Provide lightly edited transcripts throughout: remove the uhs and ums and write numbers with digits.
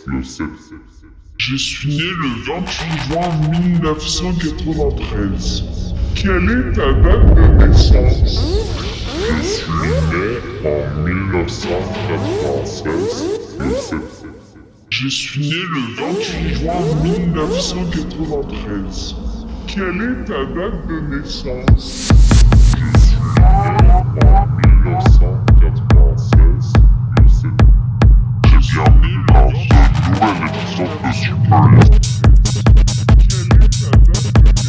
le 7. Je suis né le 28 juin 1993. Quelle est ta date de naissance? Je suis né en 1996, le 7. Je suis né le 28 juin 1993. Quelle est ta date de naissance? Je suis né en 1996, le 7. Et bienvenue dans ce nouvel épisode de Super Hero. Quelle est ta date de naissance?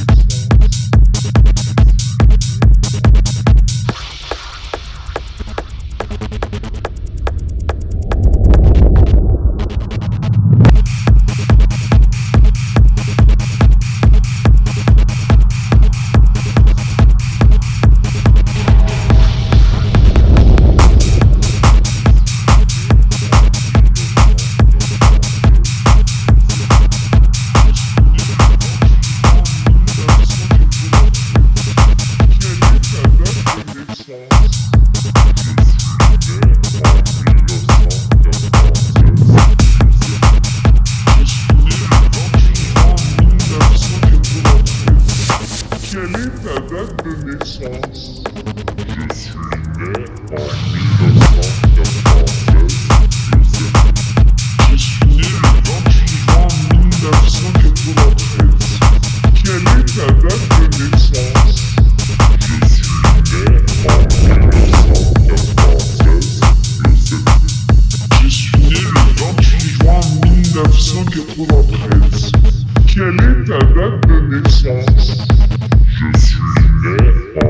Quelle est ta date de naissance? Je suis né en 1996, le 7. Je suis né le 28 juin 1993. Quelle est ta date de naissance? Je suis né en 1996, le 7. Je suis né le 28 juin 1993. Quelle est ta date de naissance? Je suis né en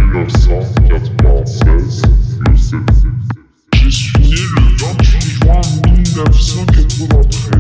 1996, le 7. Je suis né le 28 juin 1993.